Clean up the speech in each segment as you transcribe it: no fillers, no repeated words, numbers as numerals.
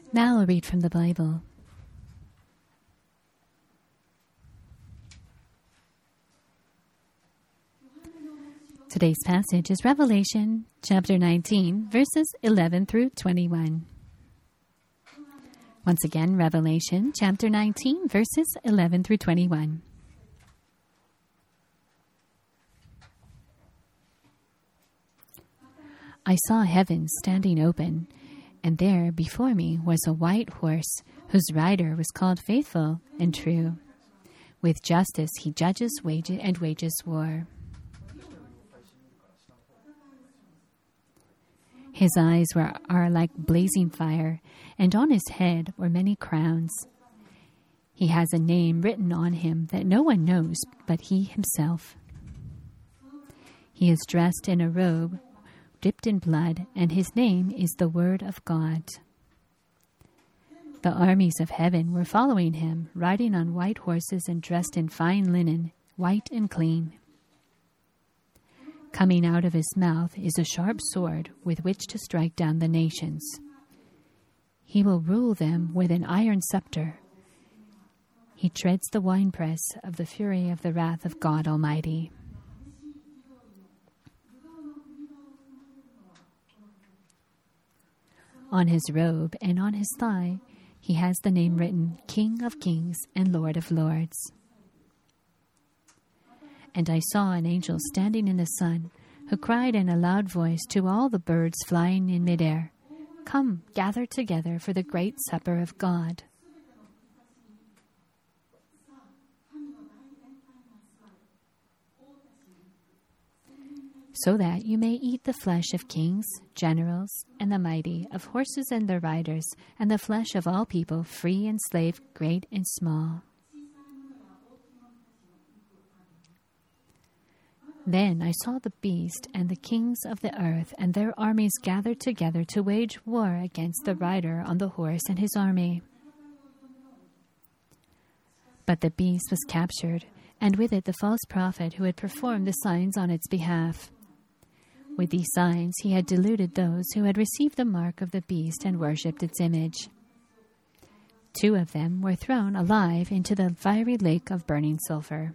Now I'll read from the Bible. Today's passage is Revelation chapter 19, verses 11 through 21. Once again, Revelation chapter 19, verses 11 through 21. I saw heaven standing open, and there before me was a white horse, whose rider was called Faithful and True. With justice he judges wages war. His eyes are like blazing fire, and on his head were many crowns. He has a name written on him that no one knows but he himself. He is dressed in a robe dipped in blood, and his name is the Word of God. The armies of heaven were following him, riding on white horses and dressed in fine linen, white and clean. Coming out of his mouth is a sharp sword with which to strike down the nations. He will rule them with an iron scepter. He treads the winepress of the fury of the wrath of God Almighty. On his robe and on his thigh, he has the name written, King of Kings and Lord of Lords. And I saw an angel standing in the sun, who cried in a loud voice to all the birds flying in midair, Come, gather together for the great supper of God. So that you may eat the flesh of kings, generals, and the mighty, of horses and their riders, and the flesh of all people, free and slave, great and small. Then I saw the beast and the kings of the earth and their armies gathered together to wage war against the rider on the horse and his army. But the beast was captured, and with it the false prophet who had performed the signs on its behalf. With these signs he had deluded those who had received the mark of the beast and worshipped its image. 2 of them were thrown alive into the fiery lake of burning sulfur.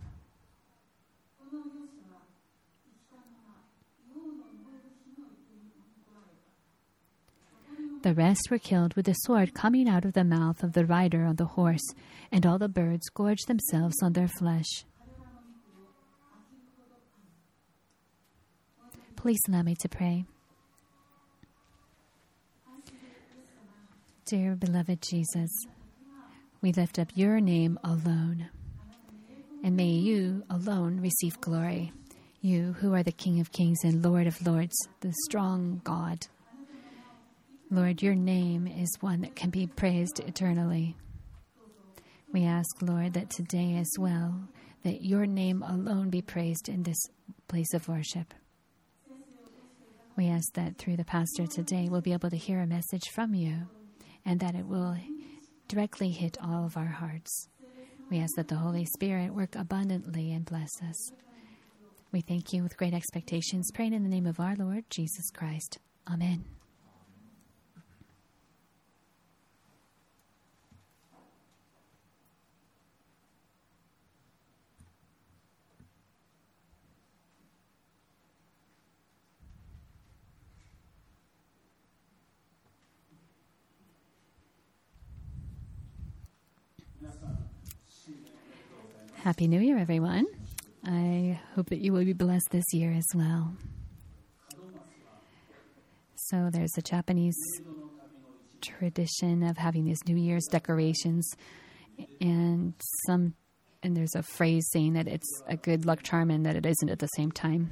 The rest were killed with the sword coming out of the mouth of the rider on the horse, and all the birds gorged themselves on their flesh. Please allow me to pray. Dear beloved Jesus, we lift up your name alone, and may you alone receive glory, you who are the King of Kings and Lord of Lords, the strong God. Lord, your name is one that can be praised eternally. We ask, Lord, that today as well, that your name alone be praised in this place of worship. We ask that through the pastor today, we'll be able to hear a message from you, and that it will directly hit all of our hearts. We ask that the Holy Spirit work abundantly and bless us. We thank you with great expectations, praying in the name of our Lord Jesus Christ. Amen. Happy New Year, everyone. I hope that you will be blessed this year as well. So there's a Japanese tradition of having these New Year's decorations, and there's a phrase saying that it's a good luck charm and that it isn't at the same time.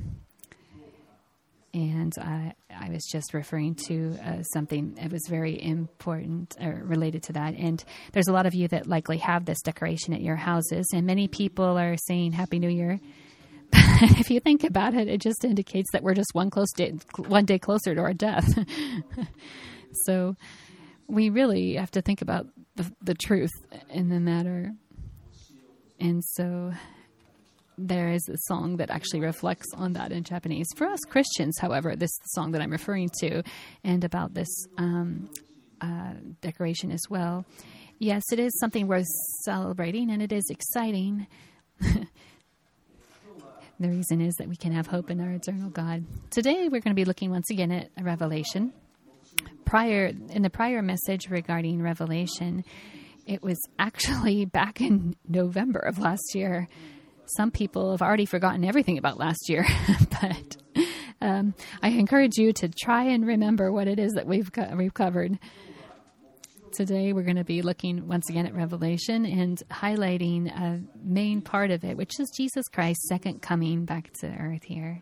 And I was just referring to something that was very important related to that. And there's a lot of you that likely have this decoration at your houses, and many people are saying Happy New Year. But if you think about it, it just indicates that we're just one day closer to our death. So we really have to think about the truth in the matter. And so there is a song that actually reflects on that in Japanese. For us Christians, however, this song that I'm referring to and about this decoration as well. Yes, it is something worth celebrating, and it is exciting. The reason is that we can have hope in our eternal God. Today, we're going to be looking once again at Revelation. In the prior message regarding Revelation, it was actually back in November of last year. Some people have already forgotten everything about last year, but I encourage you to try and remember what it is that we've covered. Today, we're going to be looking once again at Revelation and highlighting a main part of it, which is Jesus Christ's second coming back to earth here.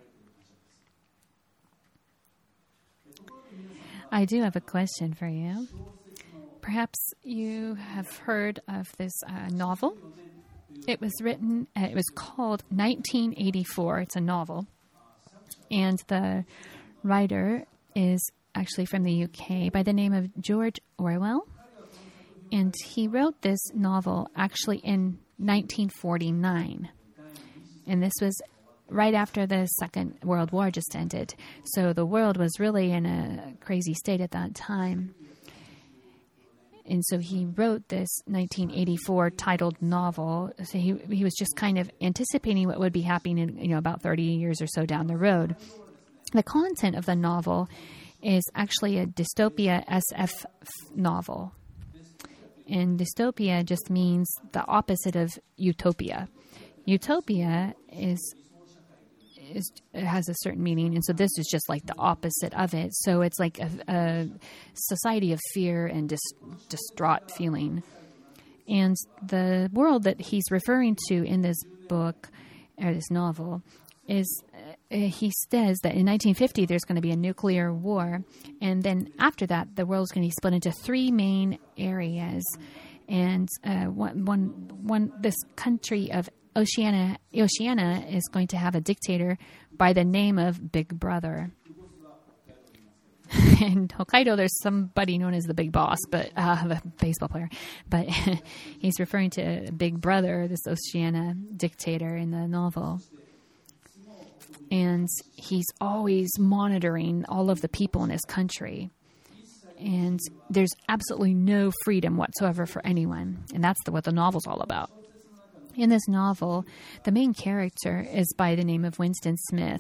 I do have a question for you. Perhaps you have heard of this novel. It was called 1984. It's a novel. And the writer is actually from the UK by the name of George Orwell. And he wrote this novel actually in 1949. And this was right after the Second World War just ended. So the world was really in a crazy state at that time. And so he wrote this 1984 titled novel. So he was just kind of anticipating what would be happening in, about 30 years or so down the road. The content of the novel is actually a dystopia SF novel. And dystopia just means the opposite of utopia. Utopia it has a certain meaning, and so this is just like the opposite of it. So it's like a society of fear and distraught feeling. And the world that he's referring to in this book, or this novel, is he says that in 1950 there's going to be a nuclear war, and then after that the world is going to be split into three main areas, and this country of Oceania is going to have a dictator by the name of Big Brother. In Hokkaido, there's somebody known as the Big Boss, but the baseball player. But he's referring to Big Brother, this Oceania dictator in the novel. And he's always monitoring all of the people in his country. And there's absolutely no freedom whatsoever for anyone. And that's what the novel's all about. In this novel, the main character is by the name of Winston Smith.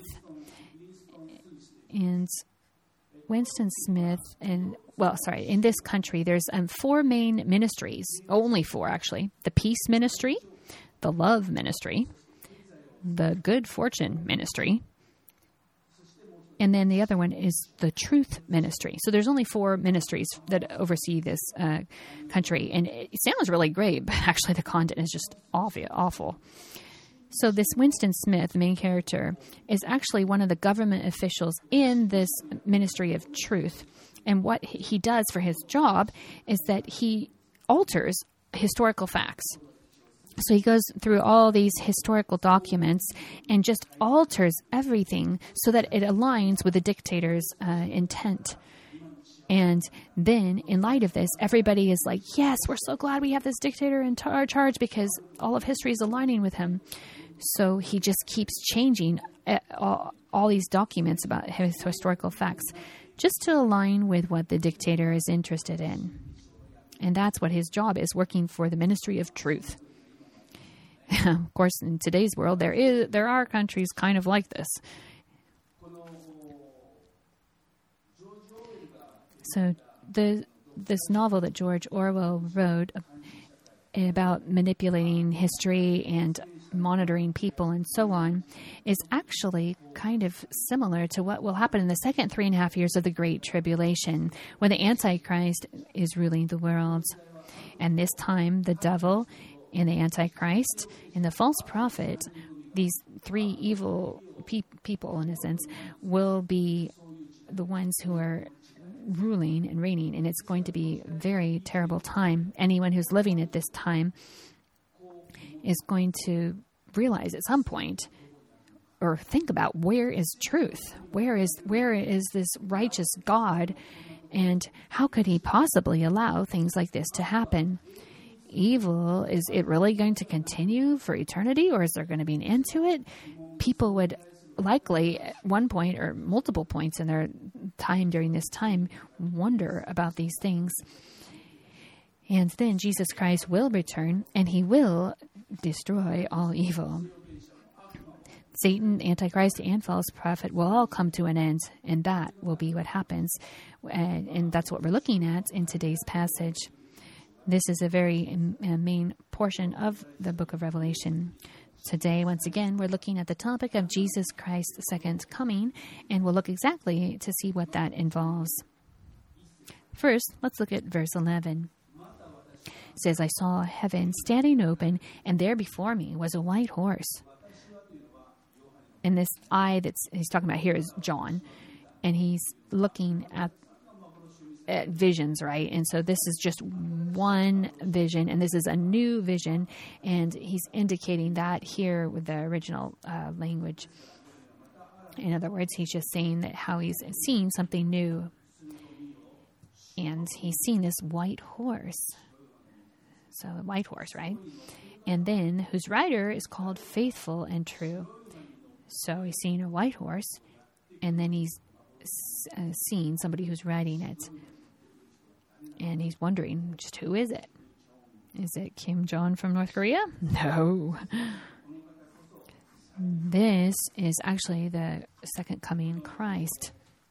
And Winston Smith, in this country, there's 4 main ministries. Only 4, actually. The Peace Ministry, the Love Ministry, the Good Fortune Ministry, and then the other one is the Truth Ministry. So there's only 4 ministries that oversee this country. And it sounds really great, but actually the content is just awful. So this Winston Smith, the main character, is actually one of the government officials in this Ministry of Truth. And what he does for his job is that he alters historical facts. So he goes through all these historical documents and just alters everything so that it aligns with the dictator's intent. And then, in light of this, everybody is like, yes, we're so glad we have this dictator in charge because all of history is aligning with him. So he just keeps changing all these documents about his historical facts just to align with what the dictator is interested in. And that's what his job is, working for the Ministry of Truth. Of course, in today's world, there are countries kind of like this. So this novel that George Orwell wrote about manipulating history and monitoring people and so on is actually kind of similar to what will happen in the second 3.5 years of the Great Tribulation, when the Antichrist is ruling the world. And this time, the devil and the Antichrist and the false prophet, these 3 evil people, in a sense, will be the ones who are ruling and reigning, and it's going to be a very terrible time. Anyone who's living at this time is going to realize at some point, or think about, where is truth? Where is this righteous God? And how could he possibly allow things like this to happen? Evil, is it really going to continue for eternity, or is there going to be an end to it? People would likely at one point or multiple points in their time during this time wonder about these things. And then Jesus Christ will return, and he will destroy all evil. Satan, Antichrist, and false prophet will all come to an end, and that will be what happens. And that's what we're looking at in today's passage. This is a very main portion of the book of Revelation. Today, once again, we're looking at the topic of Jesus Christ's second coming, and we'll look exactly to see what that involves. First, let's look at verse 11. It says, I saw heaven standing open, and there before me was a white horse. And this eye that he's talking about here is John, and he's looking at visions, right? And so this is just one vision, and this is a new vision, and he's indicating that here with the original language. In other words, he's just saying that how he's seeing something new, and he's seen this white horse. So a white horse, right? And then whose rider is called Faithful and True. So he's seeing a white horse, and then he's seeing somebody who's riding it. And he's wondering, just who is it? Is it Kim Jong from North Korea? No. This is actually the second coming Christ.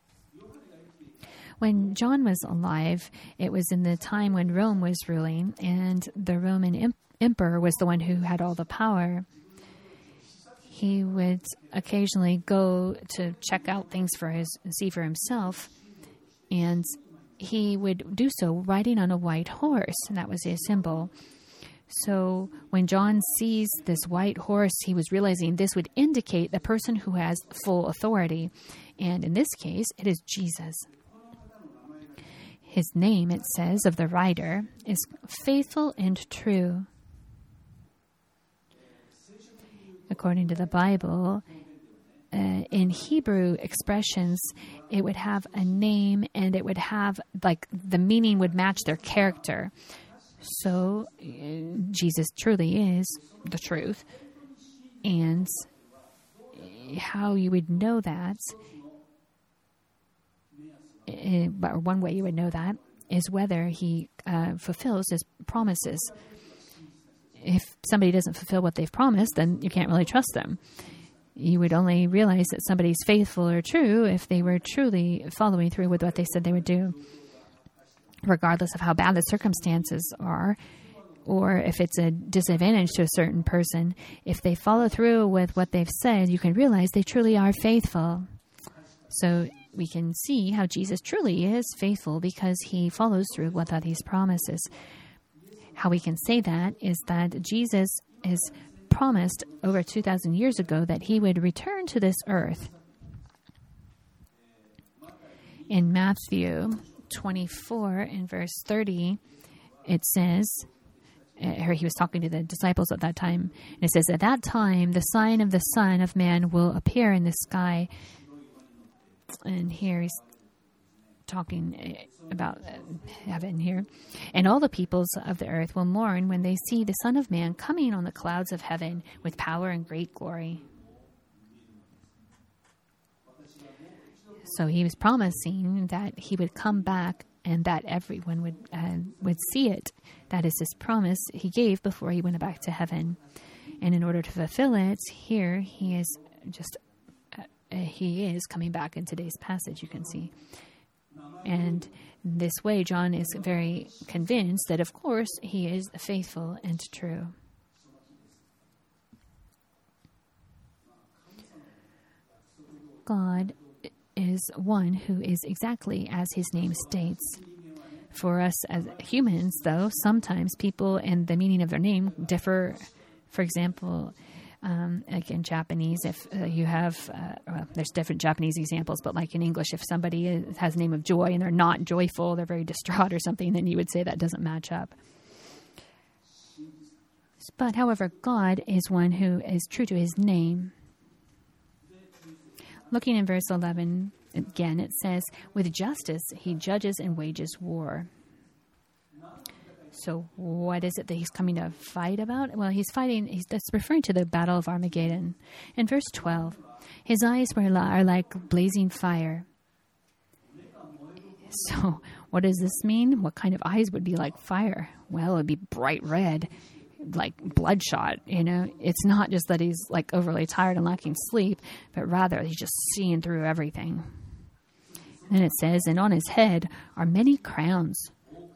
When John was alive, it was in the time when Rome was ruling, and the Roman emperor was the one who had all the power. He would occasionally go to check out things see for himself, and he would do so riding on a white horse, and that was his symbol. So when John sees this white horse, he was realizing this would indicate the person who has full authority, and in this case, it is Jesus. His name, it says, of the rider is Faithful and True. According to the Bible, in Hebrew expressions, it would have a name, and it would have, like, the meaning would match their character. So Jesus truly is the truth. And how you would know that, or one way you would know that, is whether he fulfills his promises. If somebody doesn't fulfill what they've promised, then you can't really trust them. You would only realize that somebody's faithful or true if they were truly following through with what they said they would do, regardless of how bad the circumstances are, or if it's a disadvantage to a certain person. If they follow through with what they've said, you can realize they truly are faithful. So we can see how Jesus truly is faithful because he follows through with what he promises. How we can say that is that Jesus is promised over 2,000 years ago that he would return to this earth. In Matthew 24 in verse 30, it says, he was talking to the disciples at that time, and it says, at that time, the sign of the Son of Man will appear in the sky. And here he's talking about heaven here. And all the peoples of the earth will mourn when they see the Son of Man coming on the clouds of heaven with power and great glory. So he was promising that he would come back and that everyone would see it. That is his promise he gave before he went back to heaven. And in order to fulfill it, here he is coming back in today's passage, you can see. And this way, John is very convinced that, of course, he is faithful and true. God is one who is exactly as his name states. For us as humans, though, sometimes people and the meaning of their name differ. For example, like in Japanese, if you have, there's different Japanese examples, but like in English, if somebody has the name of Joy and they're not joyful, they're very distraught or something, then you would say that doesn't match up. But however, God is one who is true to his name. Looking in verse 11, again, it says, with justice he judges and wages war. So what is it that he's coming to fight about? Well, that's referring to the Battle of Armageddon. In verse 12, his eyes are like blazing fire. So what does this mean? What kind of eyes would be like fire? Well, it would be bright red, like bloodshot, It's not just that he's like overly tired and lacking sleep, but rather he's just seeing through everything. And then it says, and on his head are many crowns.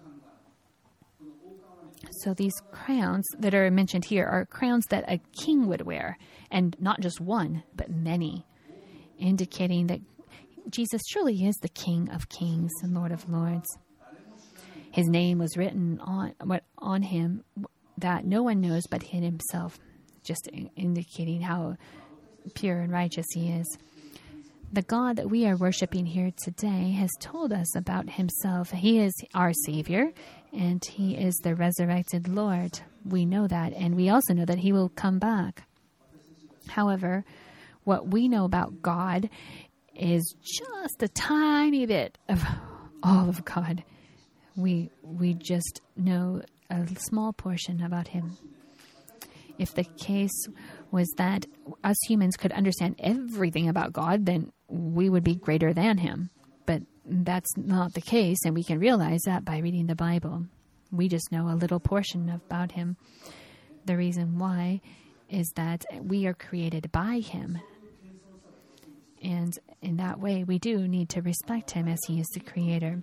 So these crowns that are mentioned here are crowns that a king would wear, and not just one, but many, indicating that Jesus truly is the King of Kings and Lord of Lords. His name was written on him that no one knows but him himself, just indicating how pure and righteous he is. The God that we are worshiping here today has told us about himself. He is our Savior, and he is the resurrected Lord. We know that, and we also know that he will come back. However, what we know about God is just a tiny bit of all of God. We just know a small portion about him. If the case was that us humans could understand everything about God, then we would be greater than him. But that's not the case, and we can realize that by reading the Bible. We just know a little portion about him. The reason why is that we are created by him. And in that way, we do need to respect him as he is the creator.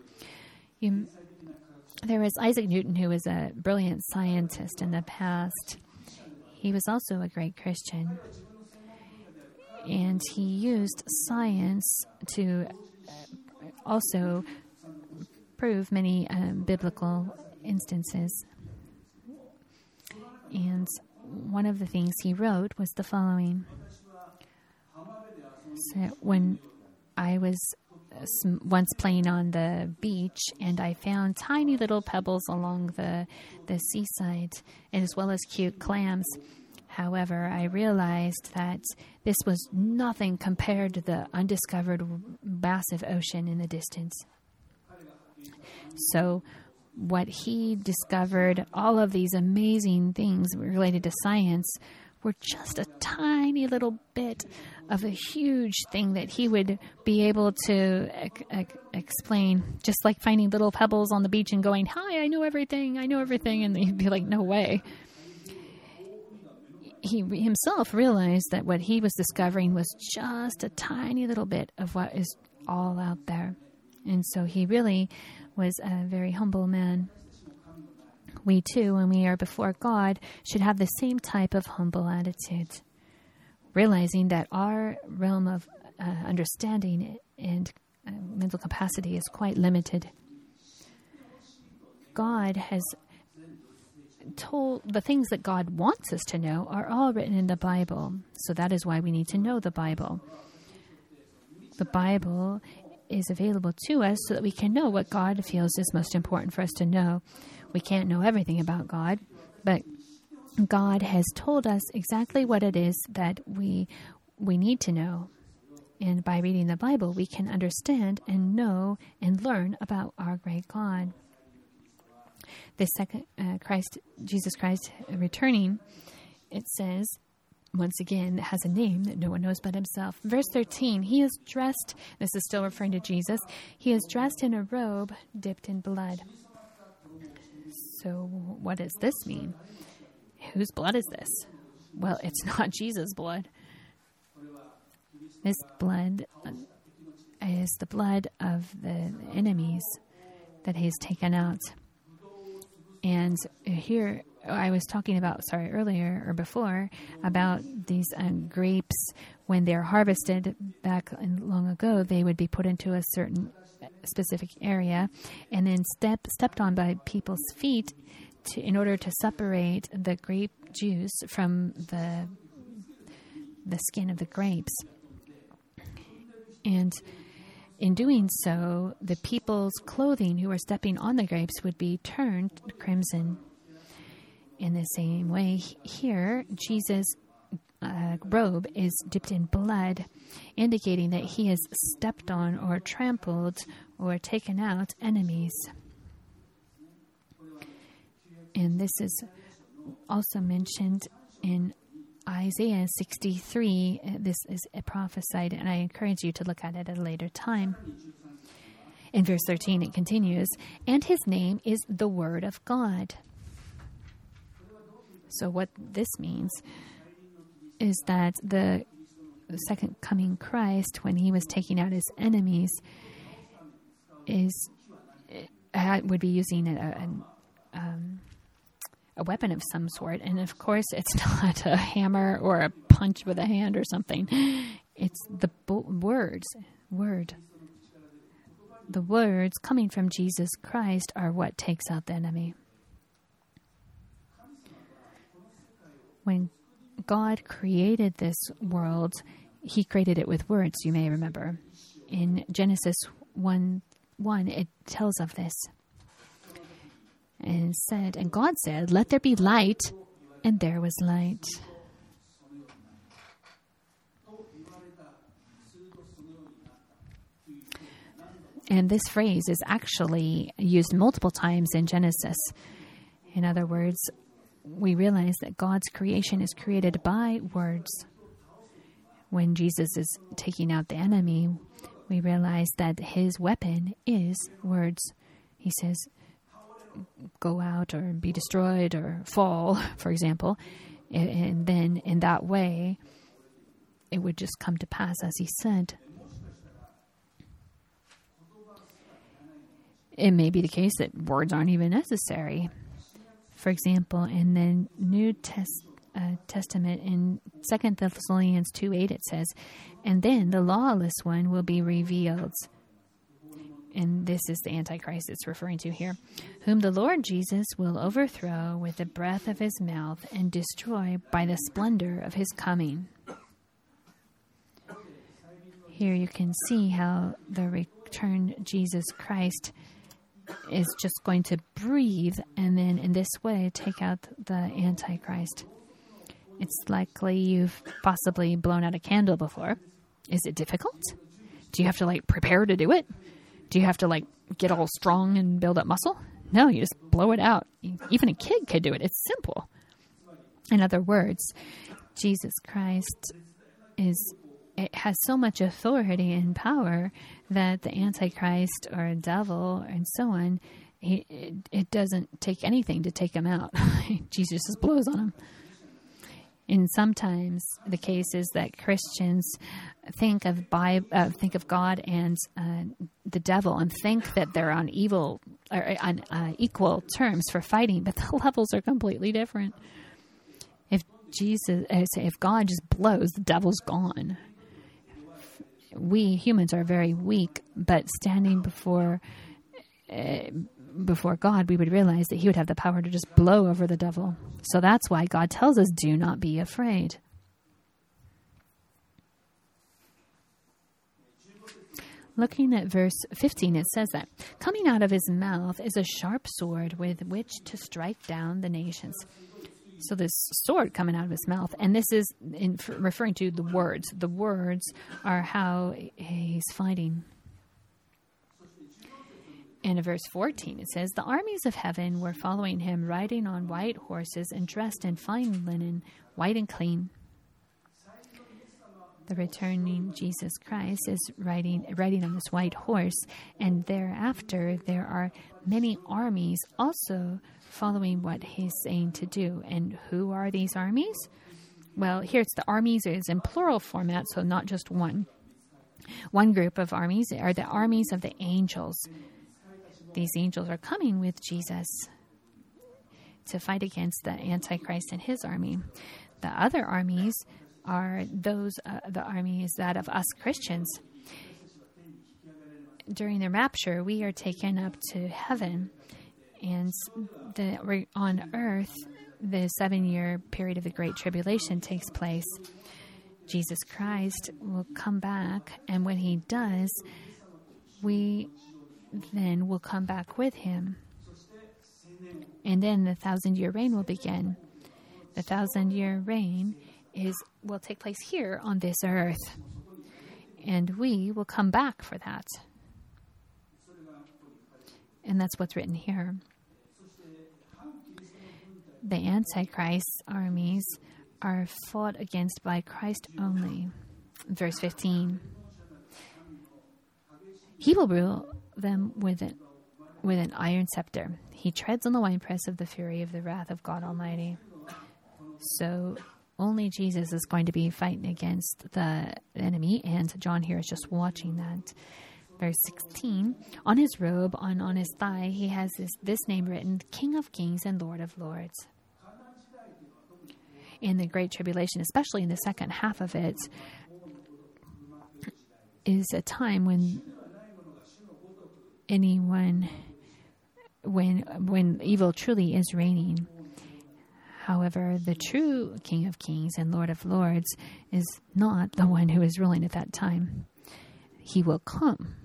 There was Isaac Newton, who was a brilliant scientist in the past. He was also a great Christian. And he used science to also prove many biblical instances. And one of the things he wrote was the following. So when I was once playing on the beach, and I found tiny little pebbles along the seaside, and as well as cute clams. However, I realized that this was nothing compared to the undiscovered massive ocean in the distance. So what he discovered, all of these amazing things related to science, were just a tiny little bit of a huge thing that he would be able to explain, just like finding little pebbles on the beach and going, "Hi, I know everything, and he'd be like, "No way." He himself realized that what he was discovering was just a tiny little bit of what is all out there. And so he really was a very humble man. We too, when we are before God, should have the same type of humble attitude, realizing that our realm of understanding and mental capacity is quite limited. God has told the things that God wants us to know are all written in the Bible. So that is why we need to know the Bible. The Bible is available to us so that we can know what God feels is most important for us to know. We can't know everything about God, but God has told us exactly what it is that we need to know. And by reading the Bible, we can understand and know and learn about our great God. The second Jesus Christ returning, it says, once again, has a name that no one knows but himself. Verse 13, he is dressed, this is still referring to Jesus, he is dressed in a robe dipped in blood. So what does this mean? Whose blood is this? Well, it's not Jesus' blood. This blood is the blood of the enemies that he's taken out. And here, I was talking about, earlier or before, about these grapes. When they're harvested back long ago, they would be put into a certain specific area and then stepped on by people's feet in order to separate the grape juice from the skin of the grapes. And in doing so, the people's clothing who were stepping on the grapes would be turned crimson. In the same way, here, Jesus' robe is dipped in blood, indicating that he has stepped on or trampled or taken out enemies. And this is also mentioned in Isaiah 63, this is prophesied, and I encourage you to look at it at a later time. In verse 13, it continues, and his name is the Word of God. So what this means is that the second coming Christ, when he was taking out his enemies, would be using a weapon of some sort. And of course, it's not a hammer or a punch with a hand or something. It's the word. The words coming from Jesus Christ are what takes out the enemy. When God created this world, he created it with words, you may remember. In Genesis 1:1, it tells of this. And God said, let there be light, and there was light. And this phrase is actually used multiple times in Genesis. In other words, we realize that God's creation is created by words. When Jesus is taking out the enemy, we realize that his weapon is words. He says, go out or be destroyed or fall, for example. And then in that way, it would just come to pass as he said. It may be the case that words aren't even necessary. For example, in the New Testament, in 2 Thessalonians 2:8, it says, and then the lawless one will be revealed. And this is the Antichrist it's referring to here, whom the Lord Jesus will overthrow with the breath of his mouth and destroy by the splendor of his coming. Here you can see how the returned Jesus Christ is just going to breathe and then in this way take out the Antichrist. It's likely you've possibly blown out a candle before. Is it difficult? Do you have to prepare to do it? Do you have to get all strong and build up muscle? No, you just blow it out. Even a kid could do it. It's simple. In other words, Jesus Christ it has so much authority and power that the Antichrist or devil and so on, it doesn't take anything to take him out. Jesus just blows on him. And sometimes the case is that Christians think of God and the devil and think that they're on equal terms for fighting, but the levels are completely different. If God just blows, the devil's gone. We humans are very weak, but standing before God, we would realize that he would have the power to just blow over the devil. So that's why God tells us, do not be afraid. Looking at verse 15, it says that coming out of his mouth is a sharp sword with which to strike down the nations. So this sword coming out of his mouth, and this is referring to the words. The words are how he's fighting. And in verse 14, it says, the armies of heaven were following him, riding on white horses and dressed in fine linen, white and clean. The returning Jesus Christ is riding on this white horse, and thereafter there are many armies also following what he's saying to do. And who are these armies? Well, here it's the armies is in plural format, so not just one. One group of armies are the armies of the angels. These angels are coming with Jesus to fight against the Antichrist and his army. The other armies are the armies that of us Christians. During the rapture, we are taken up to heaven, and on earth, the 7-year period of the Great Tribulation takes place. Jesus Christ will come back, and when he does, we then will come back with him. And then the 1,000-year reign will begin. The 1,000-year reign will take place here on this earth. And we will come back for that. And that's what's written here. The Antichrist armies are fought against by Christ only. Verse 15. He will rule them with an iron scepter. He treads on the winepress of the fury of the wrath of God Almighty. So only Jesus is going to be fighting against the enemy, and John here is just watching that. Verse 16, on his robe, on his thigh, he has this name written, King of Kings and Lord of Lords. In the Great Tribulation, especially in the second half of it, is a time when when evil truly is reigning. However, the true King of Kings and Lord of Lords is not the one who is ruling at that time. He will come.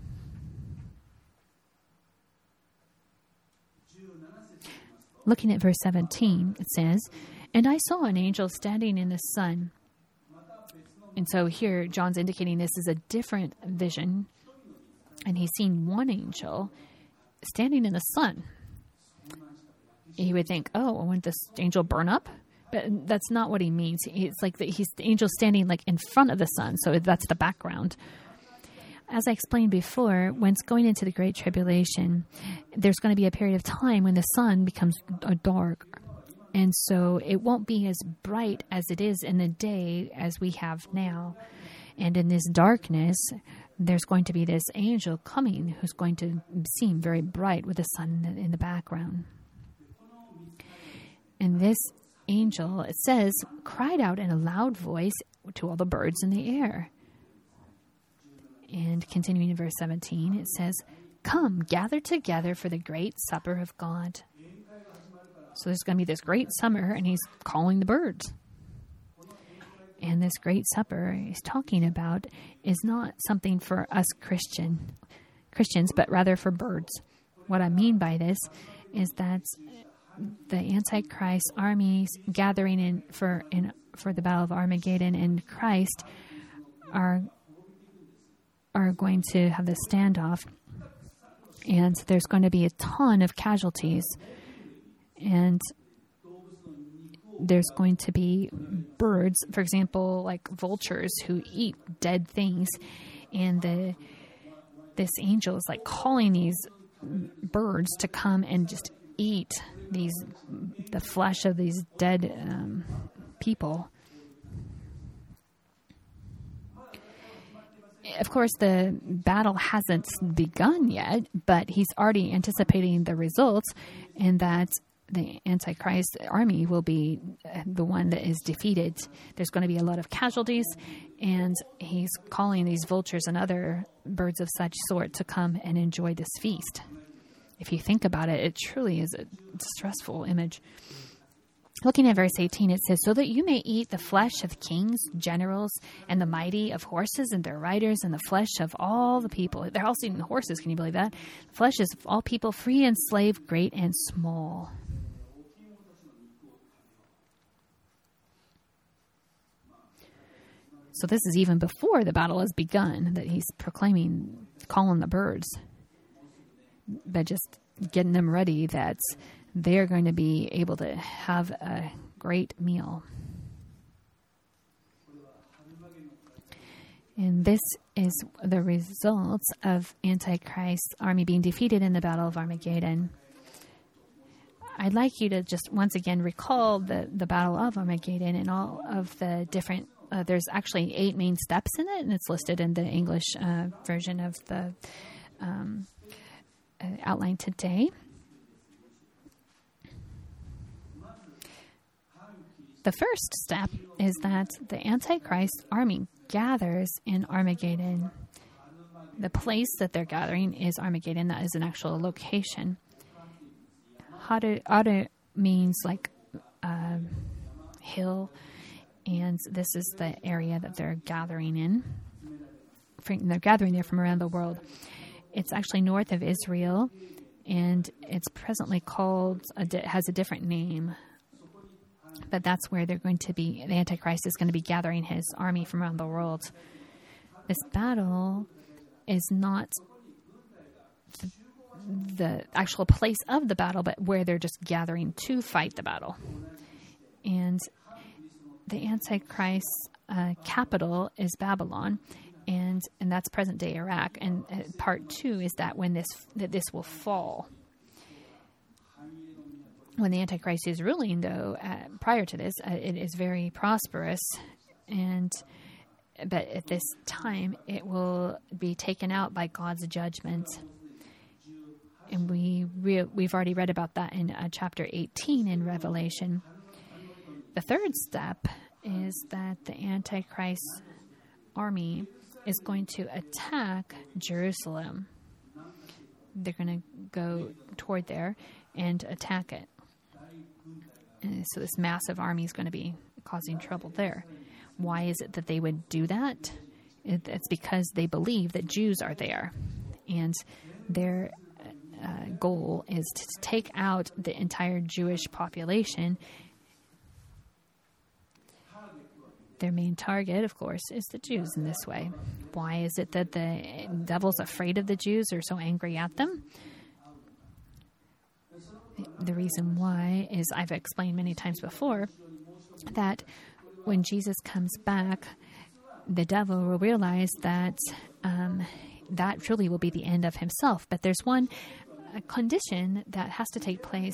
Looking at verse 17, it says, and I saw an angel standing in the sun. And so here, John's indicating this is a different vision. And he's seen one angel standing in the sun. You would think, oh, wouldn't this angel burn up? But that's not what he means. It's like he's the angel standing like in front of the sun. So that's the background. As I explained before, when it's going into the Great Tribulation, there's going to be a period of time when the sun becomes dark. And so it won't be as bright as it is in the day as we have now. And in this darkness, there's going to be this angel coming who's going to seem very bright with the sun in the background. And this angel, it says, cried out in a loud voice to all the birds in the air. And continuing in verse 17, it says, come, gather together for the great supper of God. So there's going to be this great summer, and he's calling the birds. And this great supper he's talking about is not something for us Christians, but rather for birds. What I mean by this is that the Antichrist armies gathering for the Battle of Armageddon and Christ are going to have this standoff, and there's going to be a ton of casualties, and there's going to be birds, for example, like vultures who eat dead things, and this angel is like calling these birds to come and just eat the flesh of these dead people. Of course, the battle hasn't begun yet, but he's already anticipating the results, and that the Antichrist army will be the one that is defeated. There's going to be a lot of casualties, and he's calling these vultures and other birds of such sort to come and enjoy this feast. If you think about it, it truly is a distressful image. Looking at verse 18, it says, so that you may eat the flesh of kings, generals, and the mighty, of horses and their riders, and the flesh of all the people. They're also eating horses, can you believe that? The flesh is of all people, free and slave, great and small. So this is even before the battle has begun, that he's proclaiming, calling the birds, but just getting them ready that they're going to be able to have a great meal. And this is the results of Antichrist's army being defeated in the Battle of Armageddon. I'd like you to just once again recall the Battle of Armageddon and all of the different there's actually 8 main steps in it, and it's listed in the English version of the outline today. The first step is that the Antichrist army gathers in Armageddon. The place that they're gathering is Armageddon. That is an actual location. Hada means like hill, and this is the area that they're gathering in. They're gathering there from around the world. It's actually north of Israel, and it's presently called, has a different name. But that's where they're going to be, the Antichrist is going to be gathering his army from around the world. This battle is not the actual place of the battle, but where they're just gathering to fight the battle. And the Antichrist's capital is Babylon, and that's present-day Iraq. And part 2 is that this will fall. When the Antichrist is ruling, though, prior to this, it is very prosperous, but at this time, it will be taken out by God's judgment. And we've already read about that in chapter 18 in Revelation. The third step is that the Antichrist army is going to attack Jerusalem. They're going to go toward there and attack it. And so this massive army is going to be causing trouble there. Why is it that they would do that? It's because they believe that Jews are there. And their goal is to take out the entire Jewish population. Their main target, of course, is the Jews in this way. Why is it that the devil's afraid of the Jews or so angry at them? The reason why is, I've explained many times before, that when Jesus comes back, the devil will realize that that truly will be the end of himself. But there's one condition that has to take place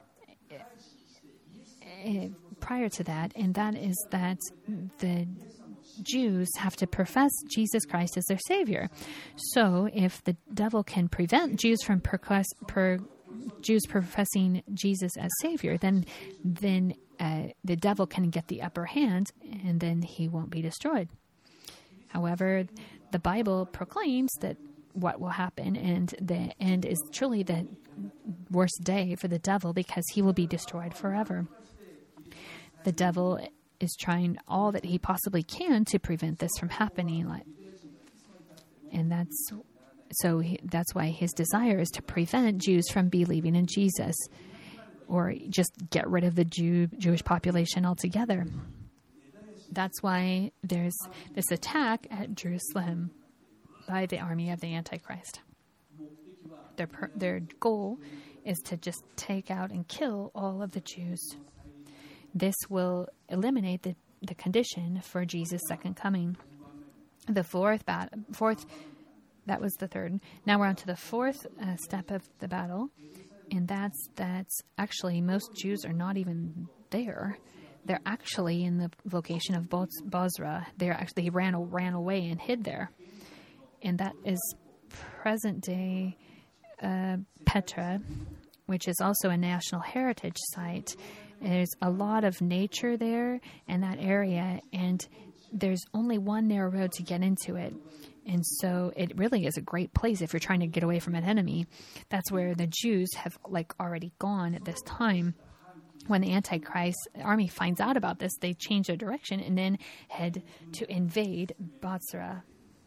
prior to that, and that is that the Jews have to profess Jesus Christ as their Savior. So if the devil can prevent Jews from Jews professing Jesus as Savior, then the devil can get the upper hand, and then he won't be destroyed. However, the Bible proclaims that what will happen, and the end is truly the worst day for the devil, because he will be destroyed forever. The devil is trying all that he possibly can to prevent this from happening, and that's why his desire is to prevent Jews from believing in Jesus, or just get rid of the Jewish population altogether. That's why there's this attack at Jerusalem by the army of the Antichrist. Their goal is to just take out and kill all of the Jews. This will eliminate the condition for Jesus' second coming. The fourth, that was the third. Now we're on to the fourth step of the battle, and that's actually most Jews are not even there. They're actually in the location of Bozrah. They ran away and hid there, and that is present-day Petra, which is also a National Heritage Site. There's a lot of nature there in that area, and there's only one narrow road to get into it. And so it really is a great place if you're trying to get away from an enemy. That's where the Jews have already gone at this time. When the Antichrist army finds out about this, they change their direction and then head to invade Bozrah.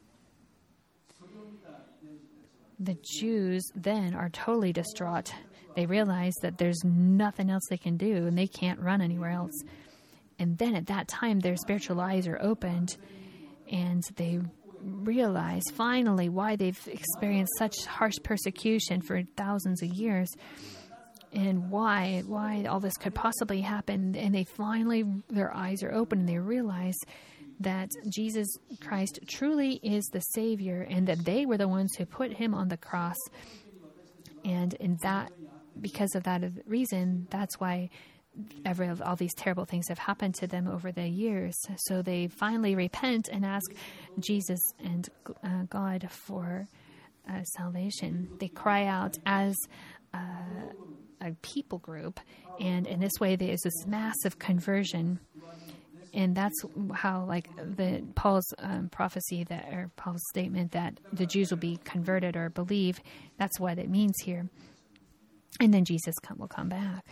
The Jews then are totally distraught. They realize that there's nothing else they can do, and they can't run anywhere else. And then at that time, their spiritual eyes are opened, and they realize finally why they've experienced such harsh persecution for thousands of years, and why all this could possibly happen. And their eyes are open, and they realize that Jesus Christ truly is the Savior, and that they were the ones who put him on the cross. And because of that reason, that's why all these terrible things have happened to them over the years. So they finally repent and ask Jesus and God for salvation. They cry out as a people group, and in this way there is this massive conversion. And that's how, Paul's prophecy or Paul's statement that the Jews will be converted or believe, that's what it means here. And then Jesus will come back.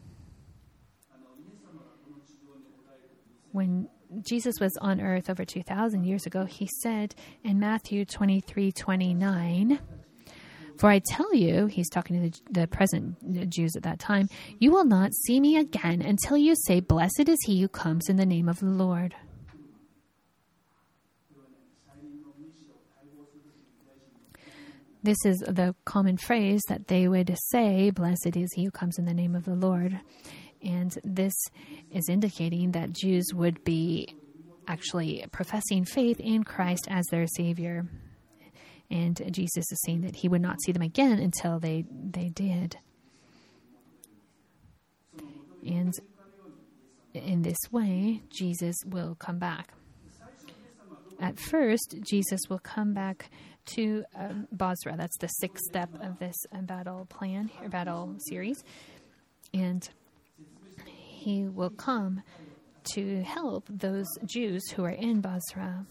When Jesus was on earth over 2,000 years ago, he said in Matthew 23:29, "For I tell you," he's talking to the present Jews at that time, "you will not see me again until you say, 'Blessed is he who comes in the name of the Lord.'" This is the common phrase that they would say, "Blessed is he who comes in the name of the Lord." And this is indicating that Jews would be actually professing faith in Christ as their Savior. And Jesus is saying that he would not see them again until they did. And in this way, Jesus will come back. At first, Jesus will come back to Bozrah. That's the sixth step of this battle plan, or battle series. And he will come to help those Jews who are in Bozrah.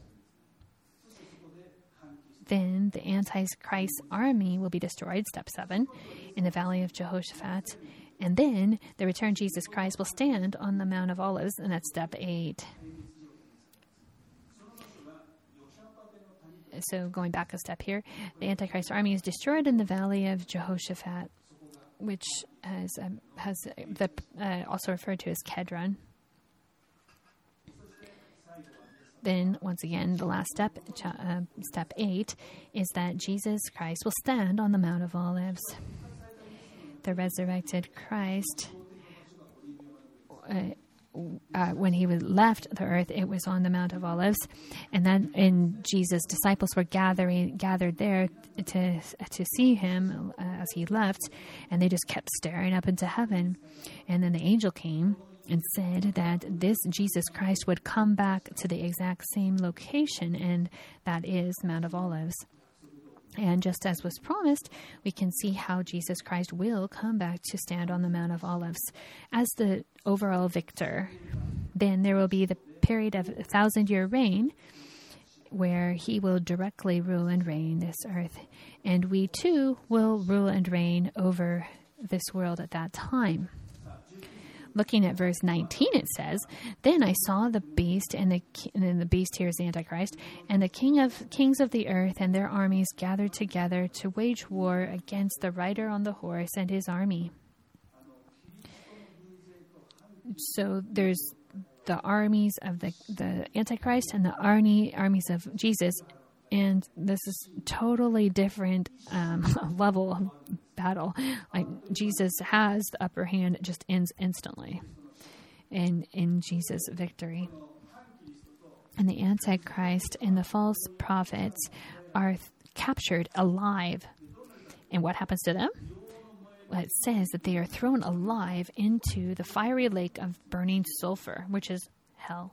Then the Antichrist army will be destroyed, step 7, in the valley of Jehoshaphat. And then the returned Jesus Christ will stand on the Mount of Olives, and that's step 8. So going back a step here, the Antichrist army is destroyed in the valley of Jehoshaphat, which has also referred to as Kedron. Then, once again, the last step, step 8, is that Jesus Christ will stand on the Mount of Olives. The resurrected Christ, when he was left the earth, it was on the Mount of Olives, and Jesus' disciples were gathered there to see him as he left, and they just kept staring up into heaven. And then the angel came and said that this Jesus Christ would come back to the exact same location, and that is Mount of Olives. And just as was promised, we can see how Jesus Christ will come back to stand on the Mount of Olives as the overall victor. Then there will be the period of 1,000-year reign where he will directly rule and reign this earth. And we too will rule and reign over this world at that time. Looking at verse 19, it says, "Then I saw the beast," and then the beast here is the Antichrist, "and the kings of the earth and their armies gathered together to wage war against the rider on the horse and his army." So there's the armies of the Antichrist and the armies of Jesus, and this is totally different level of battle. Like, Jesus has the upper hand, it just ends instantly in Jesus' victory. And the Antichrist and the false prophets are captured alive. And what happens to them? Well, it says that they are thrown alive into the fiery lake of burning sulfur, which is hell.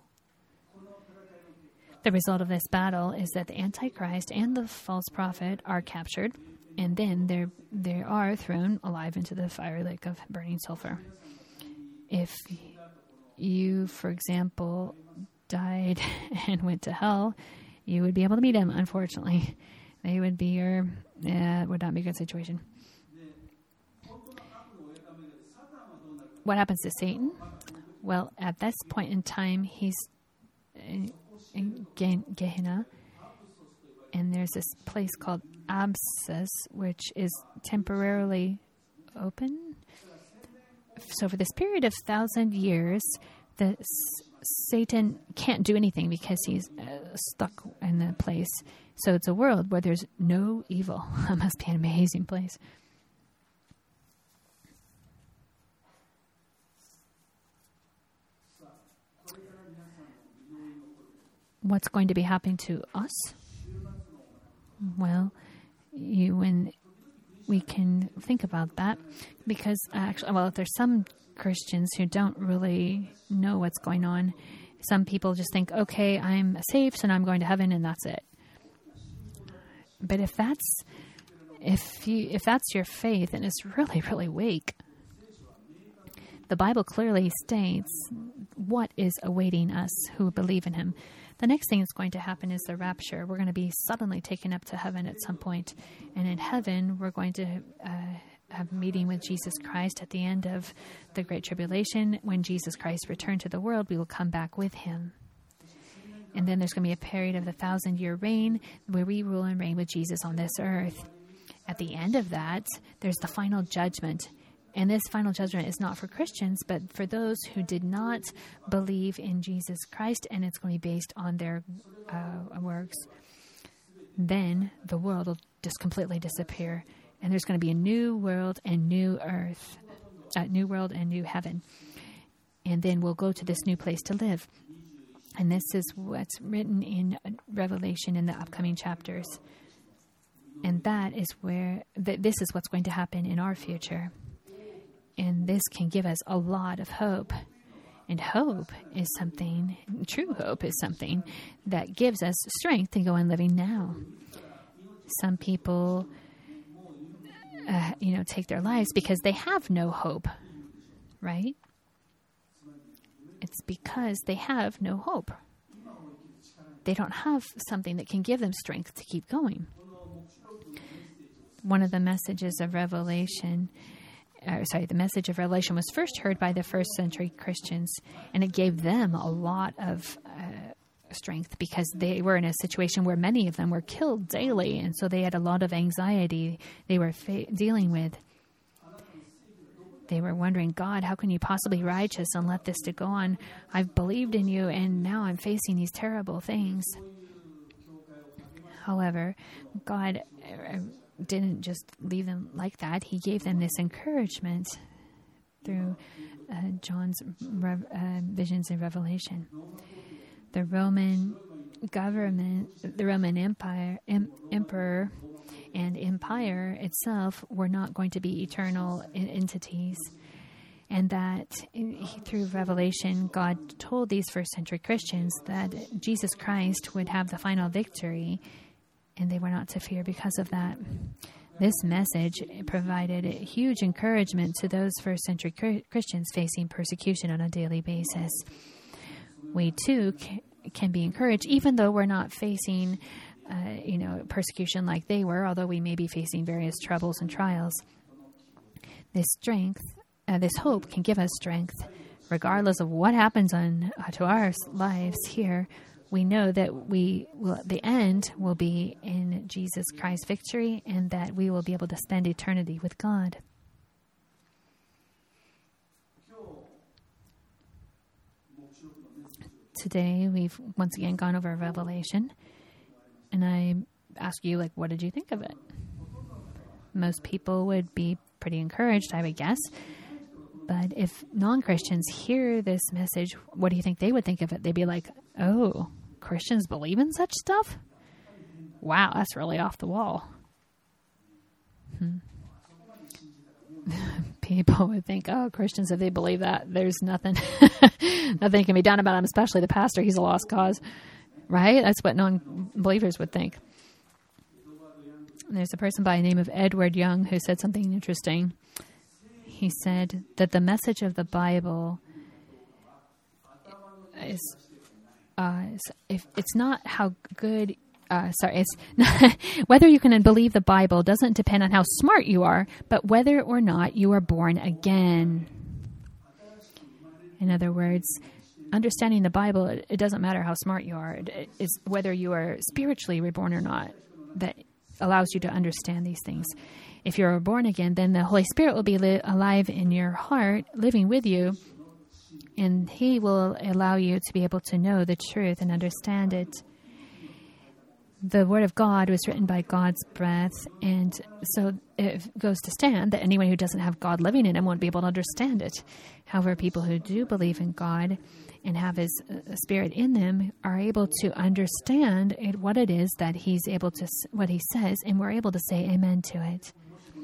The result of this battle is that the Antichrist and the false prophet are captured, and then they are thrown alive into the fiery lake of burning sulfur. If you, for example, died and went to hell, you would be able to meet him, unfortunately. They would be would not be a good situation. What happens to Satan? Well, at this point in time, he's in Gehenna, and there's this place called Abscess, which is temporarily open. So for this period of 1,000 years, Satan can't do anything because he's stuck in the place. So it's a world where there's no evil. That must be an amazing place. What's going to be happening to us? Well, when we can think about that, because there's some Christians who don't really know what's going on. Some people just think, okay, I'm saved and I'm going to heaven and that's it. But if that's your faith, and it's really, really weak, the Bible clearly states what is awaiting us who believe in him. The next thing that's going to happen is the rapture. We're going to be suddenly taken up to heaven at some point. And in heaven, we're going to have a meeting with Jesus Christ at the end of the Great Tribulation. When Jesus Christ returned to the world, we will come back with him. And then there's going to be a period of the 1,000-year reign where we rule and reign with Jesus on this earth. At the end of that, there's the final judgment. And this final judgment is not for Christians, but for those who did not believe in Jesus Christ, and it's going to be based on their works. Then the world will just completely disappear, and there's going to be a new world and new earth, new world and new heaven. And then we'll go to this new place to live. And this is what's written in Revelation in the upcoming chapters. And that is where this is what's going to happen in our future. And this can give us a lot of hope. And hope is something, true hope is something that gives us strength to go on living now. Some people, take their lives because they have no hope, right? It's because they have no hope. They don't have something that can give them strength to keep going. One of the messages of Revelation, the message of Revelation was first heard by the first century Christians, and it gave them a lot of strength because they were in a situation where many of them were killed daily, and so they had a lot of anxiety they were dealing with. They were wondering, God, how can you possibly be righteous and let this to go on? I've believed in you, and now I'm facing these terrible things. However, God didn't just leave them like that. He gave them this encouragement through John's visions in Revelation. The Roman government, the Roman Empire, emperor, and empire itself were not going to be eternal entities. And that through Revelation, God told these first century Christians that Jesus Christ would have the final victory, and they were not to fear because of that. This message provided a huge encouragement to those first century Christians facing persecution on a daily basis. We too can be encouraged, even though we're not facing persecution like they were, although we may be facing various troubles and trials. This strength, this hope can give us strength. Regardless of what happens to our lives here, we know that the end will be in Jesus Christ's victory, and that we will be able to spend eternity with God. Today, we've once again gone over Revelation, and I ask you, what did you think of it? Most people would be pretty encouraged, I would guess. But if non-Christians hear this message, what do you think they would think of it? They'd be like, oh, Christians believe in such stuff? Wow, that's really off the wall. People would think, oh, Christians, if they believe that, there's nothing can be done about them, especially the pastor. He's a lost cause, right? That's what non-believers would think. And there's a person by the name of Edward Young who said something interesting. He said that the message of the Bible is, if it's not how good. It's not, whether you can believe the Bible doesn't depend on how smart you are, but whether or not you are born again. In other words, understanding the Bible, it doesn't matter how smart you are. It's whether you are spiritually reborn or not that allows you to understand these things. If you're born again, then the Holy Spirit will be alive in your heart, living with you, and He will allow you to be able to know the truth and understand it. The Word of God was written by God's breath, and so it goes to stand that anyone who doesn't have God living in him won't be able to understand it. However, people who do believe in God and have His Spirit in them are able to understand what it is that He's able to, what He says, and we're able to say amen to it.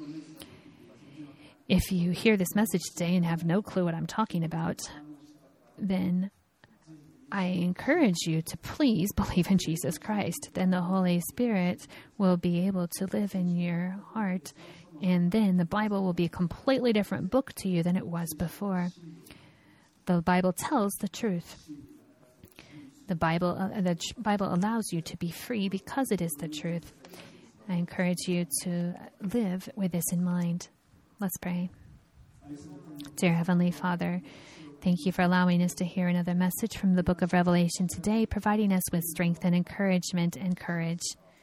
If you hear this message today and have no clue what I'm talking about, then I encourage you to please believe in Jesus Christ. Then the Holy Spirit will be able to live in your heart, and then the Bible will be a completely different book to you than it was before. The Bible tells the truth. The Bible allows you to be free because it is the truth. I encourage you to live with this in mind. Let's pray. Dear Heavenly Father, thank you for allowing us to hear another message from the book of Revelation today, providing us with strength and encouragement and courage.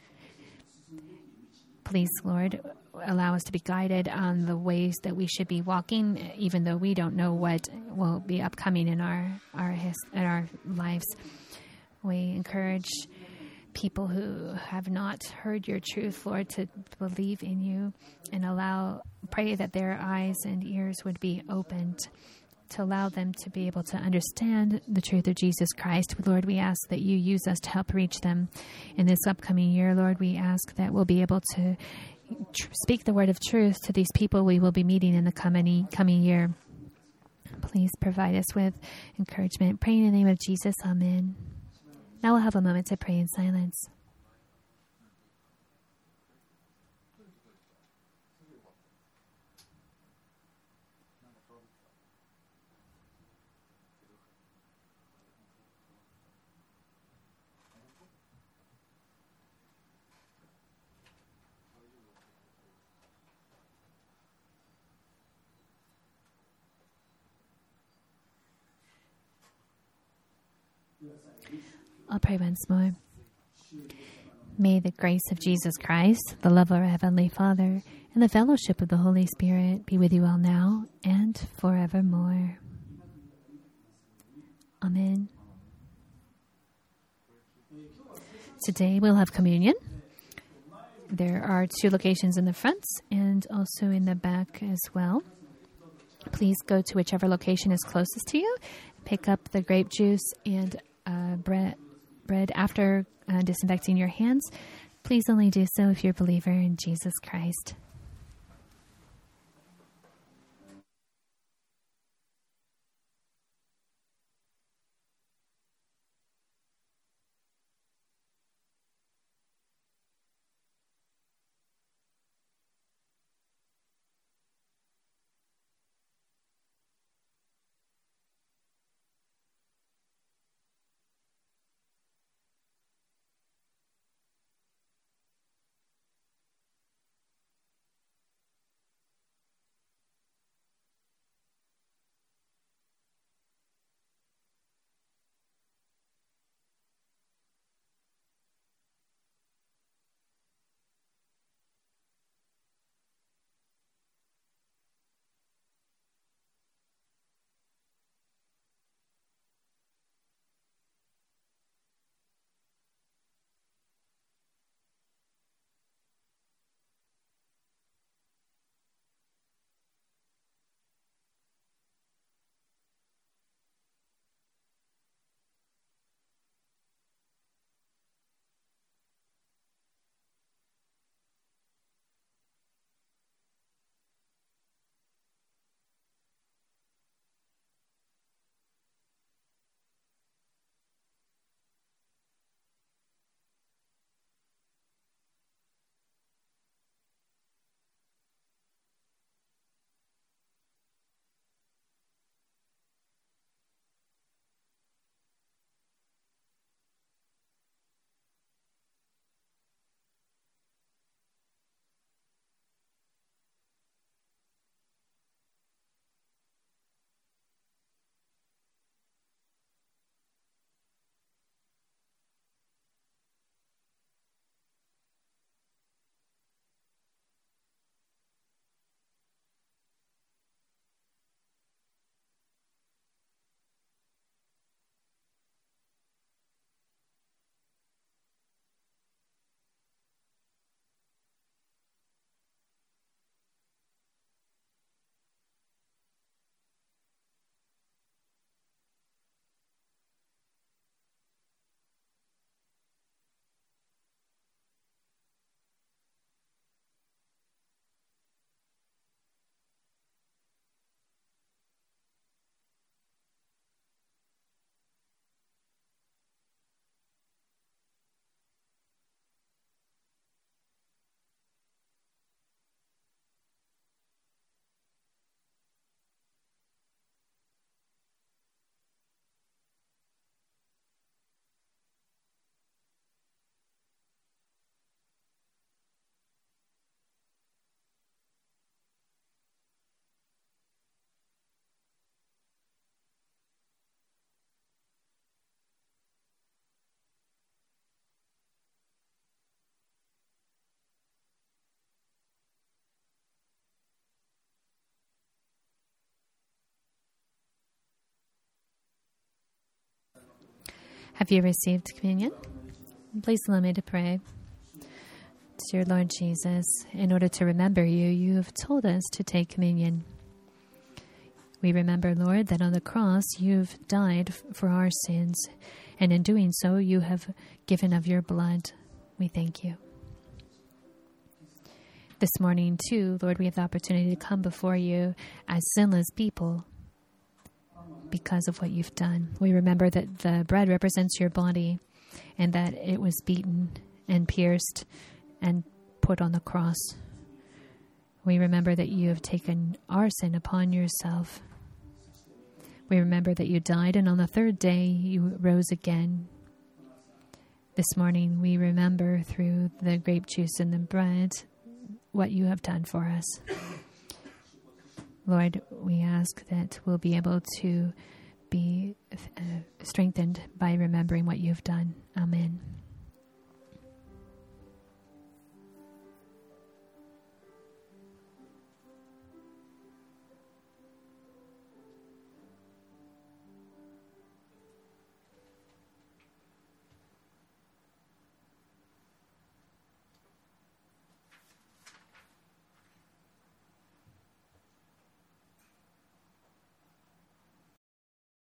Please, Lord, allow us to be guided on the ways that we should be walking, even though we don't know what will be upcoming in our lives. We encourage people who have not heard your truth, Lord, to believe in you, and pray that their eyes and ears would be opened to allow them to be able to understand the truth of Jesus Christ. Lord, we ask that you use us to help reach them in this upcoming year. Lord, we ask that we'll be able to speak the word of truth to these people we will be meeting in the coming year. Please provide us with encouragement. Pray in the name of Jesus. Amen. Now we'll have a moment to pray in silence. I'll pray once more. May the grace of Jesus Christ, the love of our Heavenly Father, and the fellowship of the Holy Spirit be with you all now and forevermore. Amen. Today we'll have communion. There are 2 locations in the front and also in the back as well. Please go to whichever location is closest to you. Pick up the grape juice and bread after disinfecting your hands. Please only do so if you're a believer in Jesus Christ. Have you received communion? Please allow me to pray. Dear Lord Jesus, in order to remember you, you have told us to take communion. We remember, Lord, that on the cross you've died for our sins, and in doing so you have given of your blood. We thank you. This morning, too, Lord, we have the opportunity to come before you as sinless people because of what you've done. We remember that the bread represents your body and that it was beaten and pierced and put on the cross. We remember that you have taken our sin upon yourself. We remember that you died, and on the third day you rose again. This morning we remember through the grape juice and the bread what you have done for us. Lord, we ask that we'll be able to be strengthened by remembering what you've done. Amen.